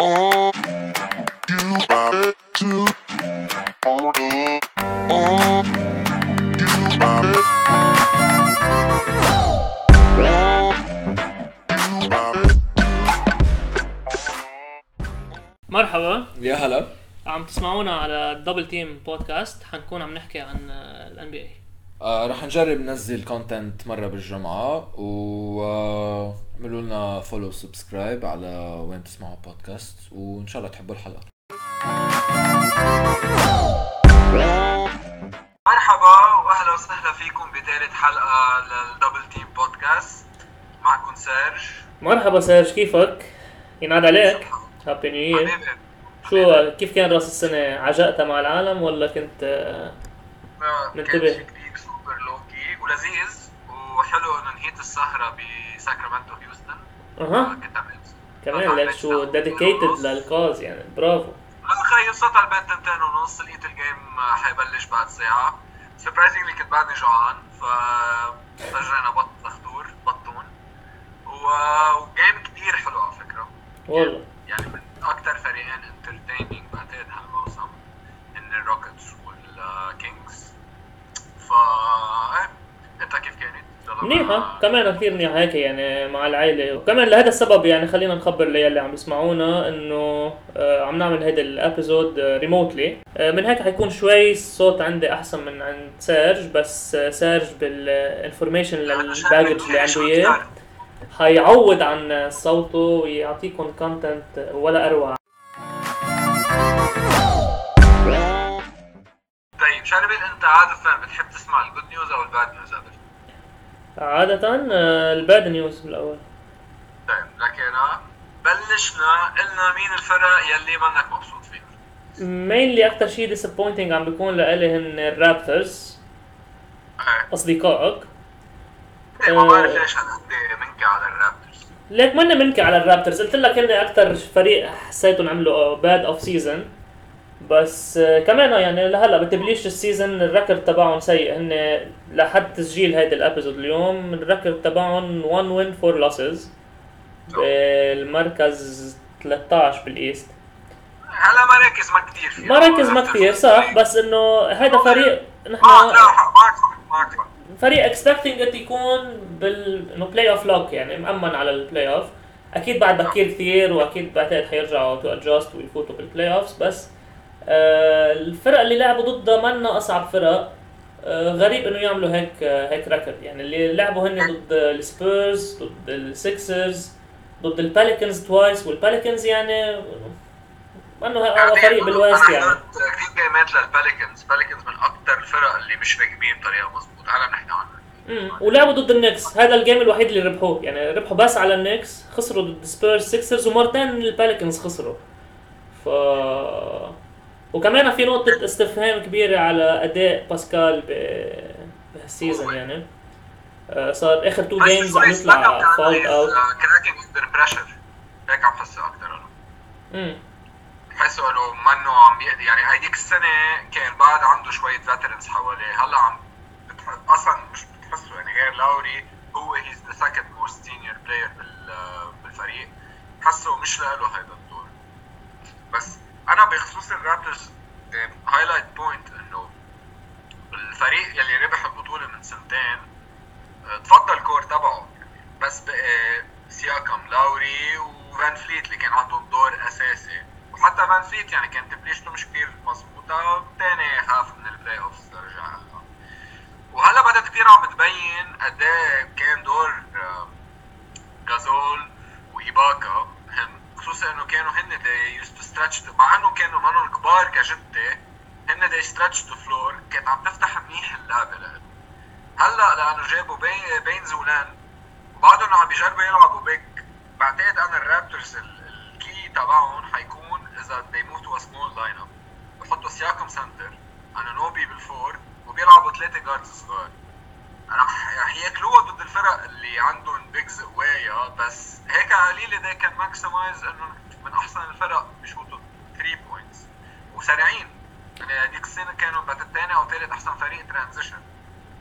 مرحبا، يا هلا. عم تسمعونا على الدبل تيم بودكاست. حنكون عم نحكي عن الان بي اي. رح نجرب ننزل كونتنت مرة بالجمعة وعملوا لنا فولو سبسكرايب على وين تسمعوا بودكاست، وإن شاء الله تحبوا الحلقة. مرحبا واهلا وسهلا فيكم بثالث حلقة للدبل تيم بودكاست. معكم سيرج. مرحبا سيرج، كيفك؟ ينعاد عليك. هابي نيو يير. حبيبي شو كيف كان راس السنة؟ عجقتها مع العالم ولا كنت منتبه؟ كان كتير سوبر لوكي ولذيذ وحلو انه نهيت السهرة بساكرامنتو هيوستن. كنت عم كمان لك شو ديديكيتد للكاز، يعني برافو. خلصت على البيت 2:30، لقيت الجيم حيبلش بعد ساعة. سربرايزنجلي كنت بعدني جوعان، فسجلنا بطون وجيم كتير حلو على فكرة والله يعني من أكتر فريقين انترتينينج بعتقد هالموسم إن الروكيتس والكينجز. أنت كيف كانت؟ منيحة، كمان كثير منيحة هيك يعني مع العائلة. وكمان لهذا السبب يعني خلينا نخبر اللي عم يسمعونا انه عم نعمل هيدا الابيزود ريموتلي. من هيك حيكون شوي الصوت عندي احسن من عند سيرج، بس سيرج بالانفورميشن للباكج اللي عنده اياه حيعوض عن صوته ويعطيكم كونتنت ولا اروع. طيب شربل، أنت عادة بتحب تسمع الجود نيوز أو الباد نيوز قبل؟ عادة الباد نيوز بالاول. طيب لكن بلشنا قلنا مين الفرق يلي منك مبسوط فيه؟ مينلي اكثر شيء disappointing عم بيكون لإلي هن الرابترز اصدقائك. ما بعرف ليش هالقد منكي على الرابترز. ليك ماني منكي على الرابترز، قلت لك هن اكثر فريق حسيتهم عملوا باد اوف سيزون، بس كمان يعني لهلا بتبليش السيزون الريكورد تبعهم سيء. هن لحد تسجيل هيدا الابيزود اليوم الريكورد تبعهم 1 win 4 losses بالمركز 13 بالايست. هلا مراكز ما كتير فيه، مراكز ما كتير صح، بس انه هيدا فريق نحن معك فريق expecting it يكون انه بلاي اوف لوك، يعني مأمن على البلاي اوف. اكيد بعد بكير كثير، واكيد بعتقد حيرجعوا تو ادجاست ويفوتوا بالبلاي اوفز، بس الفرق اللي لعبوا ضدها منا اصعب فرق. غريب انه يعملوا هيك ريكورد. يعني اللي لعبوا هن ضد السبيرز، ضد السيكسرز، ضد الباليكنز توايس، والباليكنز يعني انه هذا فريق بالويست يعني. كثير جيمات للباليكنز من اكثر الفرق اللي مش راكبين بطريقه مضبوطه. هلا بنحكي عنها. ولعبوا ضد النكس، هذا الجيم الوحيد اللي ربحوه، يعني ربحوا بس على النكس، خسروا ضد سبيرز سيكسرز، ومرتين الباليكنز خسروا. وكمان في نقطة استفهام كبيرة على أداء باسكال بهالسيزون. يعني صار آخر 2 جيمز عم يطلع فاولت اوت. كراكينج اندر بريشر، هيك عم حسه أكتر أنا. حسه إنه منه عم يقدر، يعني هيديك السنة كان بعد عنده شوية فيترنز حواليه. هلا عم أصلا مش بتحسه، يعني غير لاوري هو he's the second most senior player بالفريق. حسه مش له هيدا الدور. بس أنا بخصوص الرابترز هايلايت بوينت إنه الفريق يلي ربح البطولة من سنتين تفضل كور تبعه، بس سياكم، لاوري وفان فليت اللي كان عندهم دور أساسي. وحتى فان فليت يعني كانت تبليشته مش كتير مظبوطة، تاني خاف من البلاي اوفز ترجع هلا. وهلا بدأت كتير عم بتبين قديه كان دور غازول وإيباكا مهم، خصوصا انه كانوا هن they used to stretch مع انه كانوا منهم كبار كجدة، هن they stretched the floor. كانت عم تفتح منيح اللعبة لهم. هلا لانه جابوا بينز ولان وبعدهم عم بيجربوا يلعبوا بيك. بعتقد انا الرابترز الكي تبعهم حيكون اذا they move to a small lineup، بحطوا سياكم سنتر، انانوبي بالفور، وبيلعبوا 3 جاردز صغار. رح ياكلوها ضد الفرق اللي عندهم بيجز قوايا، بس هيك قليل ده كان ماكسمايز انه من احسن الفرق بيشوطوا 3 بوينتس وسريعين. يعني هذيك السنه كانوا الثاني او ثالث احسن فريق ترانزيشن،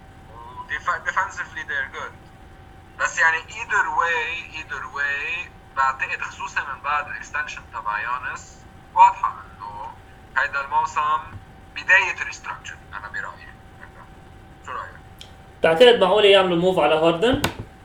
وديفنسفلي they're good. بس يعني either way بعتقد خصوصا من بعد الاكستنشن تبع يانس واضحه انه هيدا الموسم بدايه ريستراكشر. انا برايي شو رايك؟ تعتقد معقول يعملوا موف على هاردن؟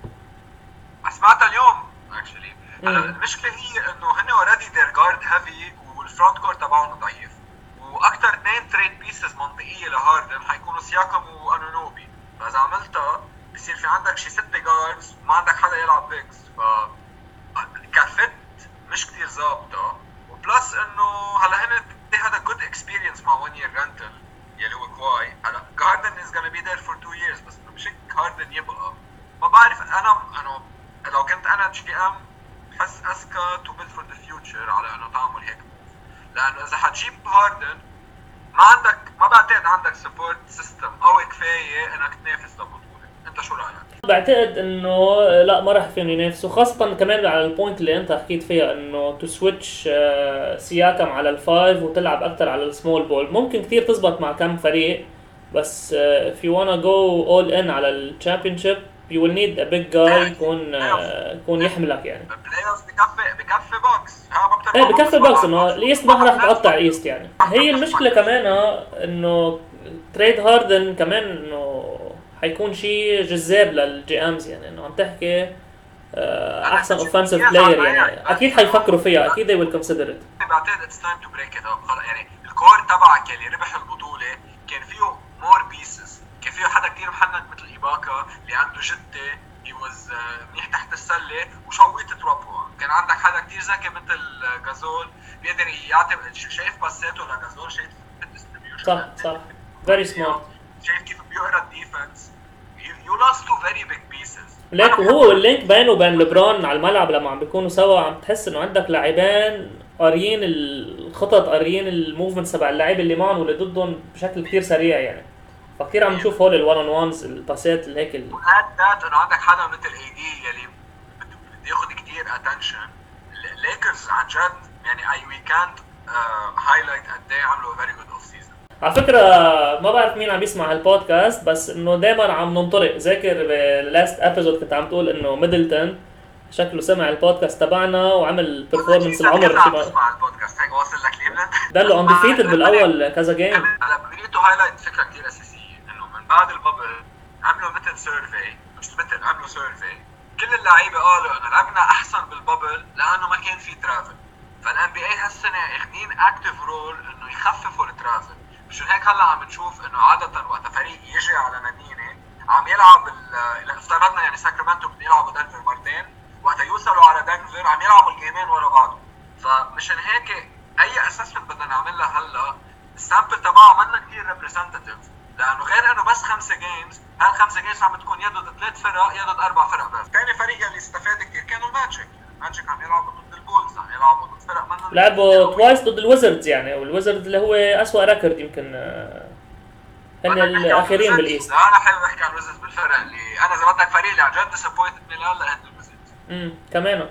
سمعتها اليوم اكشلي. المشكله هي انه هن اوريدي دير جارد هيفي والفرونت كور تبعهم ضعيف، واكثر اثنين تريد بيسز منطقيه لهاردن حيكونوا سياكم وانونوبي. فاذا عملتها بصير في عندك شي 6 جاردز وما عندك حدا يلعب بيكس، ف كفت مش كتير ظابطه. وبلس انه هلا هن هذا جود اكسبيرينس مع 1 year rental يلي هو كواي. هلا هاردن از gonna be there for 2 years، بس مش هاردن يبقى ما بعرف. انا لو كنت انا جي ام بحس اسكا تو بيلد فور ذا فيوتشر على انه تعمل هيك موف، لانه اذا حتجيب هاردن ما بعتقد عندك سبورت سيستم قوي كفايه انك تنافس لبطوله. انت شو رايك؟ بعتقد انه لا ما راح فيهم ينافسوا، خاصه كمان على البوينت اللي انت حكيت فيها انه تو سويتش سياكم على الفايف وتلعب اكثر على السمول بول. ممكن كثير تزبط مع كم فريق، بس if you wanna go all in على الشامبيونشيب you will need a big guy يكون يحملك يعني. البلاي اوف بكفي بوكس. ايه بكفي بوكس، انه الايست ما راح تقطع الايست يعني. هي المشكله كمان انه تريد هاردن كمان انه حيكون شيء جذاب للجي امز، يعني انه عم تحكي احسن اوفنسيف بلاير يعني اكيد حيفكروا فيها، اكيد they will consider it. بعتقد it's time to break it up. يعني الكور تبعك اللي ربح البطوله كان فيه مور بيسز، كان فيه حدا كتير محنك مثل ايباكا اللي عنده جته he was منيح تحت السله وشويت تروبو. كان عندك حدا كتير ذكي مثل غازول بيقدر يعطي، شايف باساته لغازول، شايف الديستريبيوشن صح very smart، شايف كيف بيقرا الديفنس. you lost two very big pieces. ليك وهو اللينك بينه وبين لبران على الملعب لما عم بيكونوا سوا عم تحس انه عندك لاعبين قاريين الخطط، قاريين الموفمنتس تبع اللاعب اللي معهم واللي ضدهم بشكل كتير سريع يعني. فكتير عم نشوف هول الوان اون وانز، الباسات اللي هيك وهاد انه عندك حدا مثل اي دي يلي بده ياخذ كتير اتنشن. الليكرز عن جد يعني we can't highlight قد ايه عملوا very good off season. على فكرة ما بعرف مين عم يسمع هالبودكاست، بس انه دايما عم ننطلق. ذاكر باللاست ابيزود كنت عم تقول انه ميدلتون شكله سمع البودكاست تبعنا وعمل بيرفورمنس العمر شي ما سمع البودكاست هيك واصل لكليفلاند ضلوا انديفيتد بالاول كذا جيم. هلا بديتو هايلايت فكره كثير اساسيه انه من بعد البابل عملوا مثل سيرفي، مش مثل عملوا سيرفي كل اللعيبه قالوا انه لعبنا احسن بالبابل لانه ما كان في ترافل. فالان بي اي هالسنه اخذين اكتيف رول انه يخففوا الترافل. مش هيك هلا عم نشوف انه عاده وقت فريق يجي على مدينه عم يلعب اذا افترضنا يعني ساكرامنتو بده يلعبوا دنفر مرتين، وقت يوصلوا على دنفر عم يلعبوا الجيمين ورا بعض. فمشان هيك اي اسسمنت بدنا نعملها هلا السامبل تبعها منا كثير ريبريزنتيف، لانه غير انه بس 5 جيمز، هال5 جيمز عم تكون يدد 3 فرق يدد 4 فرق بس. ثاني فريق اللي استفاد كثير كانوا الماجيك عم يلعبوا ضد البولز، عم يلعبوا ضد فرق منا لعبوا توايس ضد الويزردز يعني، والويزردز اللي هو اسوأ ريكورد يمكن هن الاخيرين بالايست. انا حابب احكي عن الويزردز بالفرق اللي انا اذا بدك فريق اللي عن جد ديسابوينتد من هلا هن الويزردز. كمان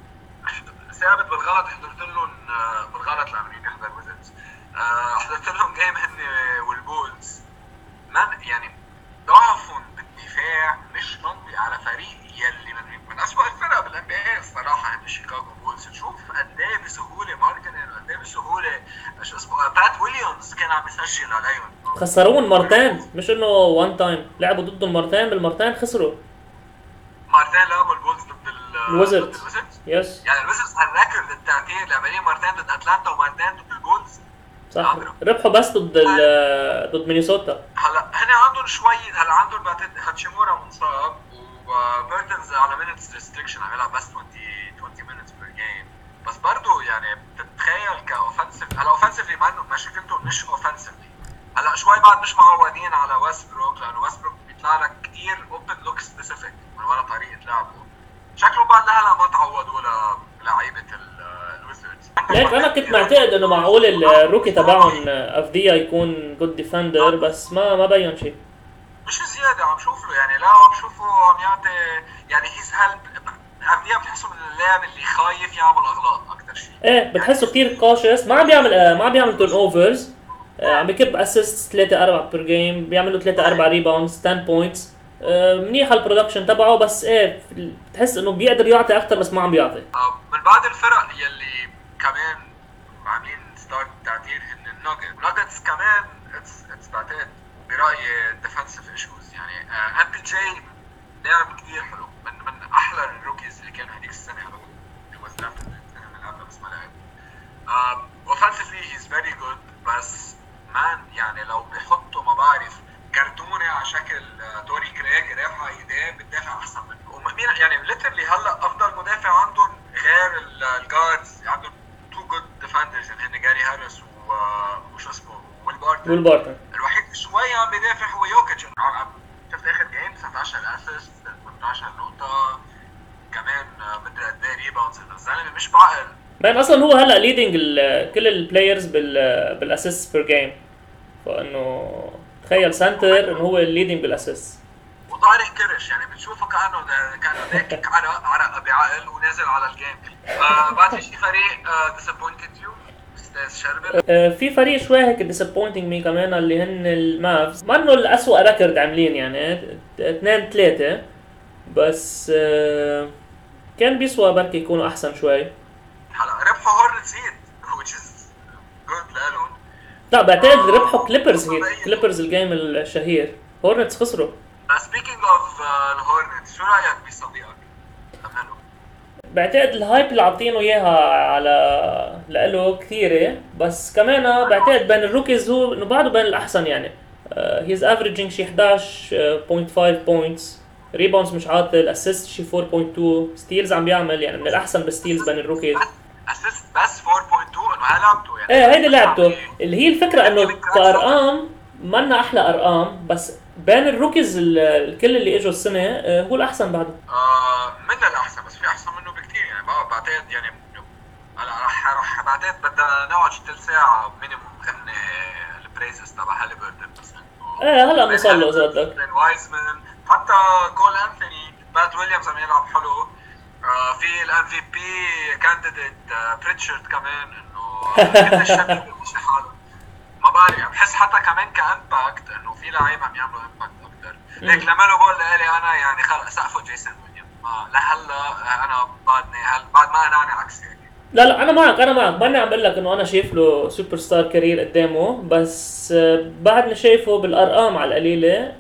ثابت بالغلط حضرت لهم بالغلط لما يحضر ويزردز حضرت لهم جيم هن والبولز من يعني ضعفهم بالدفاع مش منطقي على فريق يلي من اسوأ الفرق بالان بي اي الصراحه هن شيكاغو بولز. تشوف قد ايه بسهوله ماركنن، قد ايه بسهوله شو اسمه بات ويليامز كان عم يسجل عليهم. خسروهم مرتين، مش انه وان تايم، لعبوا ضدهم مرتين، بالمرتين خسروا مرتين. لعبوا البولز ضد الويزردز يس، يعني الويزردز هالريكورد التعتير لعبين مرتين ضد اتلانتا ومرتين ضد البولز صح. ربحوا بس ضد مينيسوتا. هلا هنا عندهم شوي، هلا عندهم هاتشيمورا مصاب وبيرتنز على مينتس ريستريكشن عم يلعب بس 20 minutes per game. بس برضه يعني بتتخيل كاوفنسيف، هلا اوفنسيفلي مشكلته مش اوفنسيفلي. هلا شوي بعد مش معودين على ويستبروك، لانه ويستبروك بيطلع لك كثير اوبن لوك سبيسيفيك من ورا طريقه لعبه. شكله بعد لهلا ما تعودوا لعيبه الويزردز. ليك انا كنت معتقد انه معقول الروكي تبعهم افديا يكون جود ديفندر، بس ما بين شيء. مش زياده عم شوف له يعني، لا عم شوفه عم يعطي يعني هيز هيلب. افديا بتحسه من اللاعب اللي خايف يعمل اغلاط اكثر شيء. ايه بتحسه كثير كوشس، ما عم بيعمل تيرن اوفرز، عم بكب اسيست 3-4 بير جيم، بيعملوا 3-4 ريباوندز 10 بوينتس. منيح البرودكشن تبعه، بس ايه بتحس انه بيقدر يعطي اكثر بس ما عم بيعطي. من بعد الفرق يلي كمان عاملين ستارت تعديل هن الناجتس كمان اتس بعتقد برايي ديفنسيف ايشوز. يعني ام بي جي لاعب كثير حلو، من احلى الروكيز اللي كانوا هذيك السنه. هو was drafted السنه اللي قبلها بس ما لعب. اوفنسيفلي هيز فيري جود، بس مان يعني لو بيحطوا ما بعرف كرتونه على شكل توري كريج رافعه ايديه بتدافع احسن منه. ومين يعني ليترلي هلا افضل مدافع عندهم غير الجاردز، عندهم تو جود ديفندرز اللي هن جاري هاريس وشو اسمه ويل بارتن. الوحيد شوي عم بيدافع هو يوكيتش. شفت اخر جيم 19 اسيست 18 نقطه كمان، مدري قد ايه ريباوندز. الزلمه مش بعقل. بين اصلا هو هلا ليدنج كل البلايرز بالاسيست بير جيم، فانه تخيل سنتر انه هو الليدنج بالاسيست. وطارق كرش يعني بتشوفه كانه داكك عرق بعقل ونازل على الجيم. بعد في شي فريق ديسابوينتد يو استاذ شربل؟ في فريق شوي هيك ديسابوينتنج مي كمان اللي هن المافز. ما انه الاسوء ريكورد عاملين يعني 2-3، بس كان بيسوى بركي يكونوا احسن شوي. هلا ربحوا هورنتس هيت which is good لهم. لا بعتقد ربحوا كليبرز هيت، كليبرز الجيم الشهير. هورنتس خسروا. سبيكينج اوف الهورنتس، شو رايك بصديقك؟ أمله بعتقد الهايب اللي عاطينه اياها على لإله كثيره، بس كمان بعتقد بين الروكيز هو انه بعده بين الاحسن. يعني هيز افريجينج شي 11.5 بوينتس، ريباوندز مش عاطل، الاسيست شي 4.2، ستيلز عم بيعمل يعني من الاحسن بالستيلز بين الروكيز. اسيست بس 4.2 انه هاي لعبته يعني. ايه هيدي لعبته اللي هي الفكره انه كارقام منا احلى ارقام، بس بين الروكيز الكل اللي اجوا السنه هو الاحسن بعده. من الاحسن، بس في احسن منه بكثير يعني. بعتقد يعني هلا راح بعتقد بدنا نقعد ثلث ساعه مينيموم نغني البريزز تبع هاليبرتون. بس ايه هلا بنوصل له اذا بدك. وايزمان حتى كول انثوني، بات ويليامز عم يلعب حلو. في الام في بي كانديديت بريتشارد كمان، انه كل الشباب مش حاله. ما بعرف، بحس حتى كمان كامباكت انه في لعيبه عم يعملوا امباكت اكثر. ليك لما بقول لي انا يعني خلص سقفه جيسون ويليامز. لهلا انا بعدني بعد ما اناني عكس هيك. لا انا معك ماني عم بقول لك انه انا شايف له سوبر ستار كارير قدامه، بس بعدني شايفه بالارقام على القليله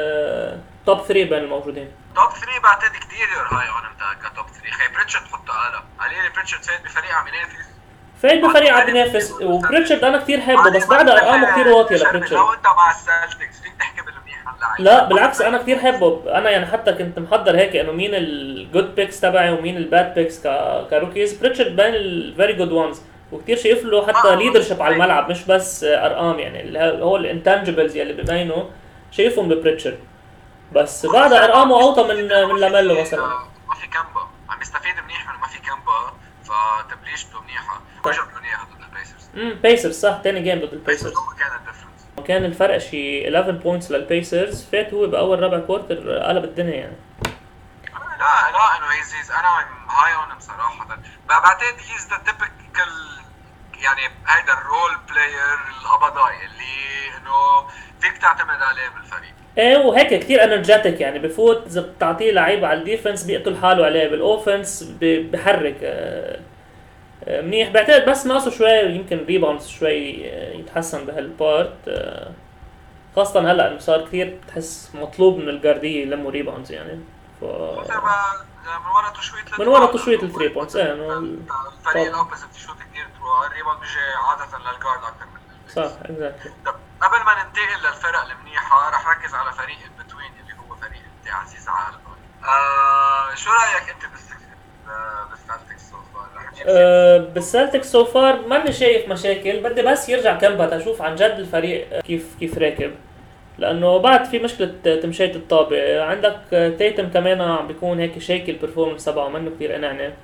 توب 3 بين الموجودين. توب 3 بعتقد كثير هاي اون انت كتوب 3. خي بريتشارد حطه اعلى. عليه بريتشارد فايت بفريق عم ينافس. فايت بفريق عم ينافس، وبريتشارد انا كثير حبه، بس بعد ارقامه كثير واطيه لبريتشارد. لو انت مع السلتكس فيك تحكي بالمنيح عن لاعب. لا بالعكس انا كثير حبه. انا يعني حتى كنت محضر هيك انه مين الجود بيكس تبعي ومين الباد بيكس كروكيز. بريتشارد بين الفيري جود وانز، وكثير شايف له حتى ليدرشيب على الملعب، مش بس ارقام. يعني هو الانتانجبلز يلي ببينه شايفهم ببريتشارد، بس بعد ارقامه اوطى من لاميلو مثلا. ما في كامبا عم يستفيد منيح من ما في كامبا، فتبليشته منيحه. وجبوا منيحه ضد البيسرز. بيسرز صح، ثاني جيم ضد البيسرز كان الديفرنس. كان الفرق شي 11 بوينتس للبيسرز. فات هو باول ربع كوارتر قلب الدنيا يعني. لا انه هيز انا هاي اون بصراحه. بعتقد هيز ذا تيبيكال يعني هيدا الرول بلاير القبضاي اللي انه فيك تعتمد عليه بالفريق. ايه وهيك كثير انرجيتك يعني، بفوت اذا بتعطيه لعيبه على الديفنس بيقتل حاله عليه، بالاوفنس بحرك منيح. بعتقد بس ناقصه شوي يمكن ريباوندز شوي يتحسن بهالبارت، خاصه هلا انه صار كثير تحس مطلوب من الجارديه يلموا ريباوندز يعني. من ورا تشويت الثري بوينتس. ايه انه الفريق الاوبوزيت يشوت كثير ثرو، الريباوند بيجي عاده للجارد اكثر من صح اكزاكتلي. قبل ما ننتقل للفرق المنيحه رح ركز على فريق البتوين اللي هو فريق انت عزيز على قلبك. شو رايك انت بالسلتكس سو فار؟ بالسلتكس سو فار ماني شايف مشاكل. بدي بس يرجع كامبا اشوف عن جد الفريق كيف راكب، لانه بعد في مشكله تمشيه الطابه. عندك تيتم كمان عم بيكون هيك شيكي البرفورمانس تبعه، منه كثير اناني.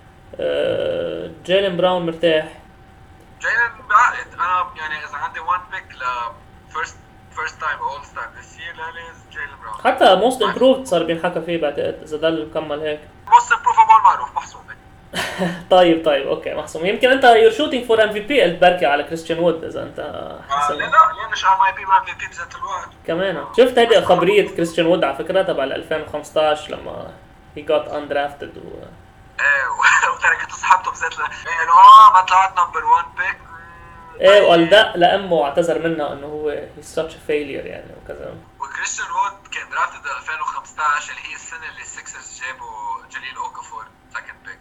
جيلن براون مرتاح. جيلن بعقد. انا يعني اذا عندي وان بيك ل فيرست تايم اول ستار ذس يير لاليز جيلن براون. حتى موست امبروفد صار بينحكى فيه بعتقد اذا ضل مكمل هيك. موست امبروفبل معروف محسوبه. طيب اوكي محسوم. يمكن انت يور شوتينج فور ام في بي بركي على كريستيان وود اذا انت لا مش ام اي بي وام في بي بذات الوقت كمان. شفت هيدي خبريه كريستيان وود على فكره تبع 2015 لما هي جات اندرافتد وتركت صحابته بذات انه ما طلعت نمبر 1 بيك. وقال ده لامه واعتذر منها انه هو هي such a failure يعني وكذا. وكريستيان وود كان درافتد 2015 اللي هي السنه اللي السكسرز جابوا جليل اوكافور سكند بيك.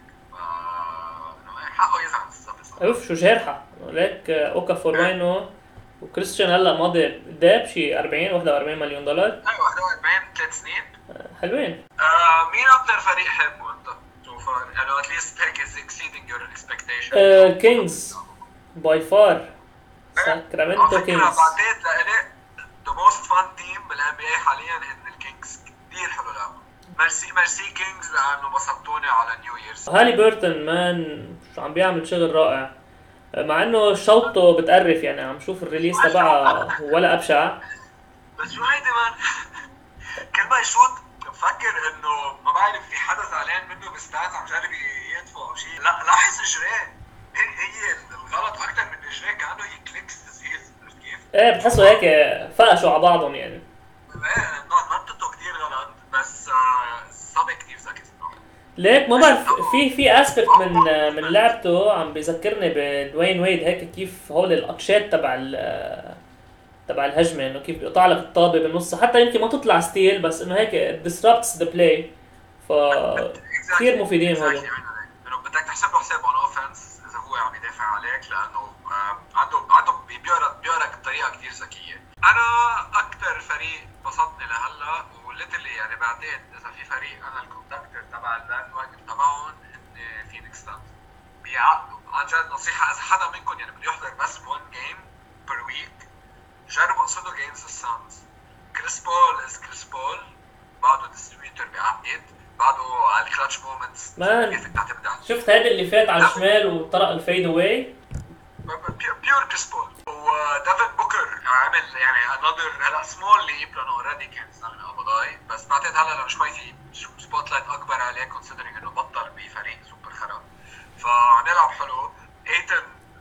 حقه يزعل الصبي. اوف شو جارحه ليك اوكافور وينه وكريستيان هلا ماضي داب شي 41 مليون دولار. ايوه 41 3 سنين حلوين. مين اكثر فريق حبه انت؟ شوف انه at least pick is exceeding your expectations. كينجز باي فار. ساكرامنتو كينجز. بعتقد لإلي the most fun team بالان بي اي حاليا ان الكينجز كثير حلو لعبوا. ميرسي كينجز لانه بسطوني على نيو ييرز. هالي بيرتون مان شو عم بيعمل شغل رائع مع انه شوطه بتقرف يعني. عم شوف الريليس تبعها ولا ابشع. بس شو هيدي مان كل ما يشوط بفكر انه ما بعرف في حدا زعلان منه بستاز عم جرب يدفع او شيء. لا لاحظ اجريه هي الغلط اكثر من اجريه كانه هي كليكس تسهيل. عرفت كيف؟ بتحسوا هيك فقشوا على بعضهم يعني. نطته كثير غلط بس صبي كثير ذكي صراحه. ليك ما بعرف في اسبكت من لعبته عم بيذكرني بدوين ويد هيك كيف هول القطشات تبع الهجمه انه كيف بيقطع لك الطابه بالنص حتى يمكن ما تطلع ستيل بس انه هيك disrupts the play. ف كثير مفيدين هول. انه بدك تحسب له حساب اون اوفنس اذا هو عم يدافع عليك لانه عنده بيقرا بطريقه كثير ذكيه. انا اكثر فريق بسطني لهلا وليتلي يعني بعتقد اذا في فريق انا الكونتاكتر تبع الباند واجن تبعهم ان فينيكس سانز بيعقدوا عن جد. نصيحه اذا حدا منكم يعني بده يحضر بس 1 جيم بير ويك جربوا انصدوا جيمز السانز. كريس بول بعده ديستريبيوتر بيعقد بعده على الكلاتش مومنتس. شفت هذا اللي فات على الشمال وطرق الفيد اواي بيور كريس بول. وديفن بوكر عمل يعني انذر هلا سمول ليب لانه اوريدي كان من ابو ظبي بس بعتقد هلا لو شوي في سبوت لايت اكبر عليه كونسيدرينج انه بطل بفريق سوبر خرا فنلعب حلو. ايتن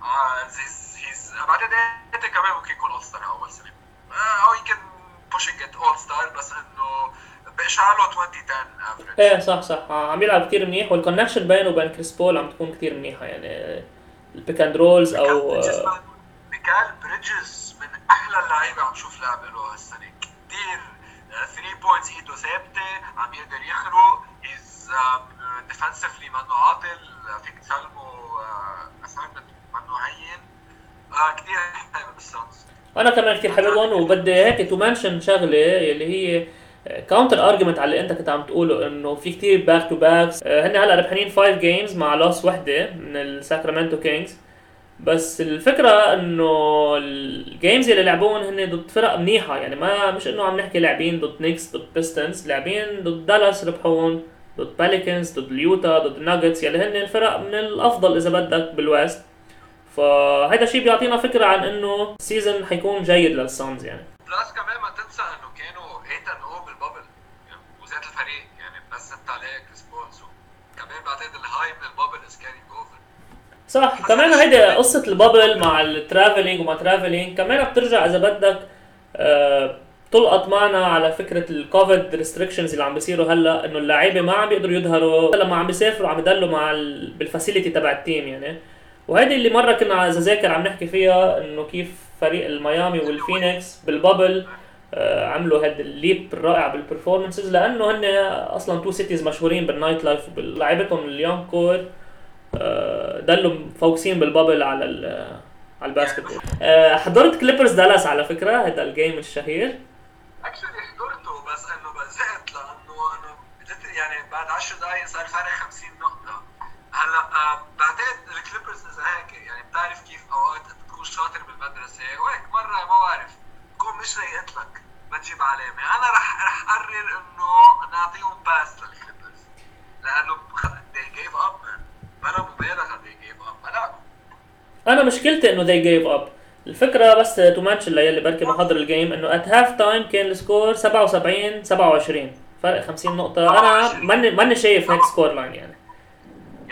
هيز بعتقد ايتن كمان ممكن يكون اول ستار اول سنه او يمكن بوشينج ات اول ستار بس انه باشعاله 2010 افريج. صح عم يلعب كثير منيح والكونكشن بينه وبين كريس بول عم تكون كثير منيحه يعني البيك اند رولز او ميكال بريدجز من احلى اللعيبه عم شوف لعب له هالسنه كثير 3 بوينتس ايده ثابته عم يقدر يخرق از ديفنسفلي منه عاطل فيك تسلمه اساينمنت منه هين كثير حلو بالسانس. انا كمان كثير حاببهم وبدي هيك تو منشن شغله اللي هي كاونتر ارجيومنت على اللي انت كنت عم تقوله انه في كثير باك تو باكس. هن هلا ربحانين 5 جيمز مع لوس وحده من الساكرامنتو كينجز بس الفكره انه الجيمز اللي لعبوهم هن ضد فرق منيحه يعني ما مش انه عم نحكي لاعبين ضد نيكس ضد بيستنز لاعبين ضد دالاس ربحون ضد باليكنز ضد اليوتا ضد الناجتس يلي هن الفرق من الافضل اذا بدك بالويست. فهذا الشيء بيعطينا فكره عن انه السيزون حيكون جيد للسانز يعني. بلس كمان ما تنسى انه كانوا 8-0 بالبابل يعني وذات الفريق يعني بس زدت عليه كريس بول كمان بعتقد الهاي من البابل از كارينج اوفر. صح كمان هيدي قصه البابل مع الترافلينج وما ترافلينج كمان بترجع اذا بدك تلقط معنا على فكره الكوفيد ريستريكشنز اللي عم بيصيروا هلا انه اللاعبين ما عم بيقدروا يظهروا لما عم بيسافروا عم يضلوا مع بالفاسيلتي تبع التيم يعني. وهذه اللي مره كنا اذا ذاكر عم نحكي فيها انه كيف فريق الميامي والفينيكس بالبابل عملوا هذا الليب الرائع بالبرفورمانسز لانه هن اصلا تو سيتيز مشهورين بالنايت لايف وبلعبتهم اليونج كور ضلوا فوكسين بالبابل على الباسكتبول. حضرت كليبرز دالاس على فكره هذا الجيم الشهير. اكشلي حضرته بس انه بزهقت لانه يعني بعد 10 دقائق صار فرق 50 نقطه. هلا بعتقد الكليبرز اذا هيك يعني بتعرف كيف اوقات بتكون شاطر بالمدرسه وهيك مره ما بعرف تكون مش رايقت لك ما تجيب علامه. انا رح اقرر انه نعطيهم باس للكليبرز لانه they gave up بلا مبالغه they gave up. انا مشكلتي انه they gave up. الفكره بس تو ماتش اللي بركي محضر الجيم انه ات هاف تايم كان السكور 77-27 فرق 50 نقطه. انا ماني شايف هيك سكور لاين يعني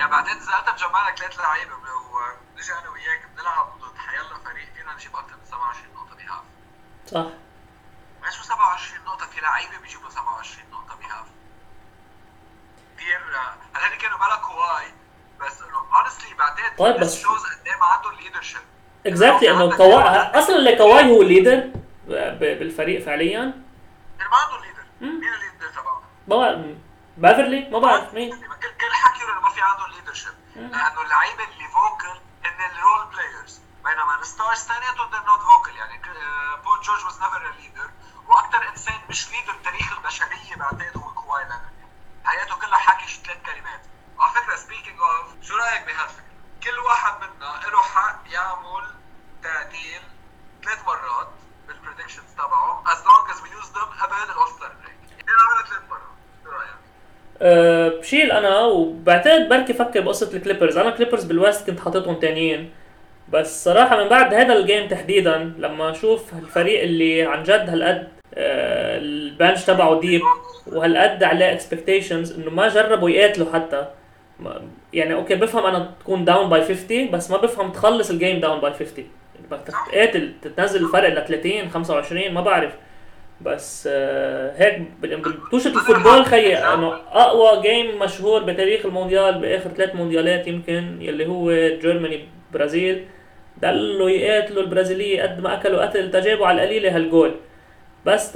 يعني بعدين اذا انت مجمع لك 3 لعيبه ونجي انا وياك بنلعب ضد حيلا فريق فينا نجيب اكثر من 27 نقطه بهاف. صح. شو 27 نقطه؟ في لعيبه بيجيبوا 27 نقطه بهاف كثير. هلا كانوا بلا كواي بس انه honestly بعدين طيب بس شوز قد ايه ما عندهم ليدرشيب. اكزاكتلي انه كواي اصلا اللي كواي هو الليدر بالفريق فعليا. ما عندهم ليدر. مين الليدر تبعهم؟ ما بافرلي ما بعرف مين. كل حكي انه ما في عندهم ليدرشيب لانه اللعيبه اللي فوكل هن الرول بلايرز بينما الستارز ثانياتهم they're not vocal. يعني بول جورج was never a leader واكثر انسان مش ليدر بتاريخ البشريه بعتقد هو كواي لينارد. حياته كلها حكي شي 3 كلمات. على فكره speaking of شو رايك بهالفكره؟ كل واحد منا له حق يعمل تعديل 3 مرات بالبريدكشنز تبعه as long as we use them قبل الاوستر بريك. انا عملت 3 مرات. شو رايك؟ بشيل انا وبعتقد بركي فكر بقصه الكليبرز. انا كليبرز بالويست كنت حاططهم تانيين بس صراحه من بعد هذا الجيم تحديدا لما اشوف الفريق اللي عن جد هالقد البنش تبعه ديب وهالقد عليه اكسبكتيشنز انه ما جربوا يقاتلوا حتى. يعني اوكي بفهم انا تكون داون باي 50 بس ما بفهم تخلص الجيم داون باي 50. يعني بدك تقاتل تنزل الفرق ل 30 25 ما بعرف. بس هيك بتوشة الفوتبول خيي انه اقوى جيم مشهور بتاريخ المونديال باخر 3 مونديالات يمكن يلي هو جيرماني برازيل ضلوا يقاتلوا البرازيليه قد ما اكلوا قتل تجابوا على القليله هالجول بس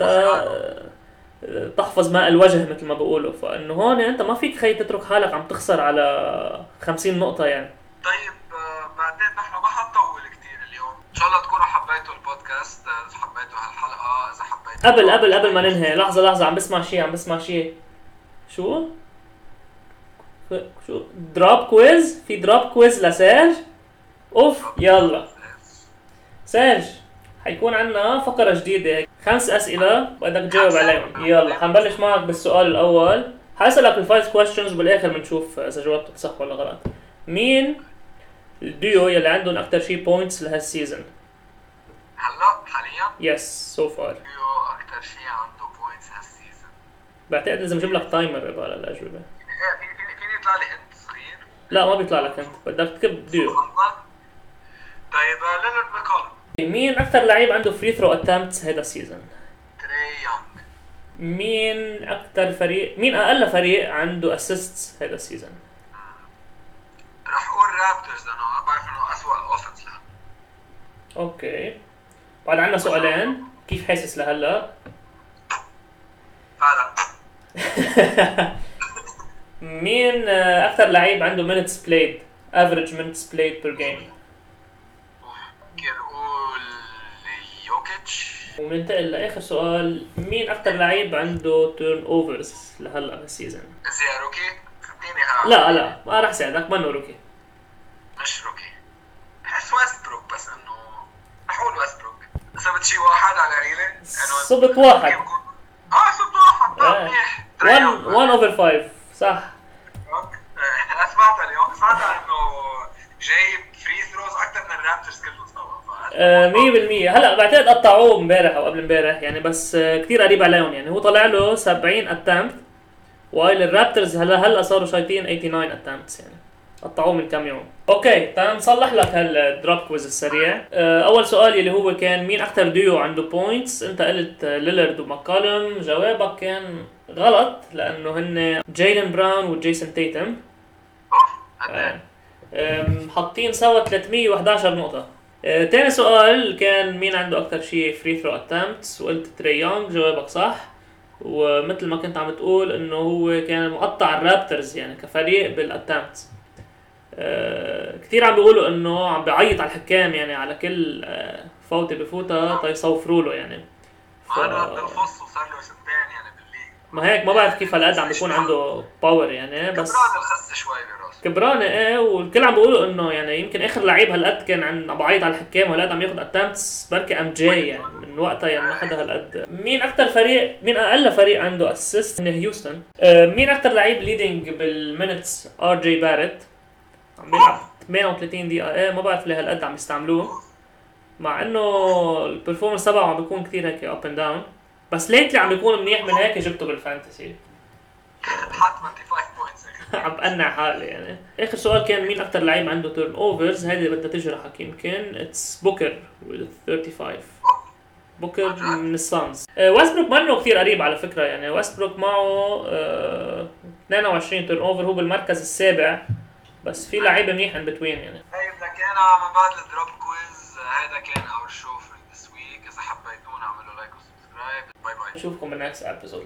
تحفظ ماء الوجه مثل ما بقولوا. فانه هون انت ما فيك خي تترك حالك عم تخسر على 50 نقطه يعني. طيب بعدين نحن ما حنطول كثير اليوم. ان شاء الله تكونوا حبيتوا البودكاست. اذا حبيتوا هالحلقه اذا حبيتوا قبل ما ننهي لحظه عم بسمع شيء. شو دروب كويز. في دروب كويز لسيرج. اوف يلا سيرج حيكون عنا فقره جديده 5 اسئله بدك تجاوب عليهم. يلا حنبلش معك بالسؤال الاول. حاسألك الفايف كويستشنز وبالاخر بنشوف اذا جاوبت صح ولا غلط. مين الديو يلي عندهم اكثر شيء بوينتس لهالسيزون؟ هلا حاليا يس سو فار ديو اكثر شيء عنده بوينتس هالسيزون. بعتقد لازم اجيب لك تايمر على الاجوبه. فيني يطلع لي انت صغير؟ لا ما بيطلع لك انت بدك تكتب ديو. طيب ليلارد ماكولم. مين اكثر لعيب عنده فري ثرو اتمبتس هذا السيزون؟ تري يونغ. مين اقل فريق عنده اسيستس هذا السيزون؟ رح اقول رابترز لانه بعرف انه اسوء الاوفنس لها. اوكي بعد عنا سؤالين. كيف حاسس لهلا؟ فعلا. مين اكثر لعيب عنده minutes played average minutes played per game؟ ممكن نقول يوكيتش. ومننتقل لاخر سؤال. مين اكثر لعيب عنده تيرن اوفرز لهلا بالسيزون؟ زي روكي؟ خديني لا ما راح ساعدك منه روكي. مش روكي. بحس ويستبروك بس انه رح اقول ويستبروك. صبت شي واحد على ريلي؟ صبت واحد. صبت واحد. منيح. 1/5 صح. سمعت اليوم انه جايب فري ثروز اكثر من الرابترز كلهم سوا. 100%. هلا بعتقد قطعوه امبارح او قبل امبارح يعني بس كثير قريب عليهم. يعني هو طلع له 70 اتمت وايل الرابترز هلا صاروا شايطين 89 اتمتس يعني قطعوه من كم يوم. اوكي تعال نصلح لك هالدروب كويز السريع. اول سؤال اللي هو كان مين اكثر ديو عنده بوينتس؟ انت قلت ليلارد وماكولم. جوابك كان غلط لانه هن جايلن براون وجيسون تيتم. حاطين سوا 311 نقطة. تاني سؤال كان مين عنده اكثر شيء فري ثرو اتمتس وقلت تري يونغ. جوابك صح. ومثل ما كنت عم تقول انه هو كان مقطع الرابترز يعني كفريق بالاتمتس. كثير عم بيقولوا انه عم بيعيط على الحكام يعني على كل فوتة بفوتها تيصوفروا له يعني. انا بالفص وصار له سنتين يعني بالليج. ما هيك ما بعرف كيف هالقد عم بيكون عنده باور يعني بس كبران الخس شوي براسه. كبرانه والكل عم بيقولوا انه يعني يمكن اخر لعيب هالقد كان عم بعيط على الحكام وهالقد عم ياخذ اتمتس بركي ام جي يعني من وقتها يعني ما حدا هالقد. مين اقل فريق عنده اسيست؟ هيوستن. مين اكثر لعيب ليدنج بالمينتس؟ ار جي باريت عم بيلعب 38 دقيقه. ما بعرف ليه هالقد عم يستعملوه مع انه البرفورمانس تبعه عم بيكون كثير هيك اب اند داون بس ليتلي عم بيكون منيح من هيك جبته بالفانتسي. حط 25 بوينتس. عم بقنع حالي يعني. اخر سؤال كان مين اكثر لعيب عنده تيرن اوفرز، هذه بدها تجرحك يمكن. اتس بوكر with 35. بوكر من السانز. ويستبروك منه كثير قريب على فكره يعني. ويستبروك معه 22 تيرن اوفر، هو بالمركز السابع، بس في لعيبه منيح ان بتوين يعني. هي بدنا كان من بعد الدروب كويز. هذا كان اور شو فور ذس ويك. اذا حبيتونا اعملوا لايك وسبسكرايب. باي باي. نشوفكم بالنكست ابيسود.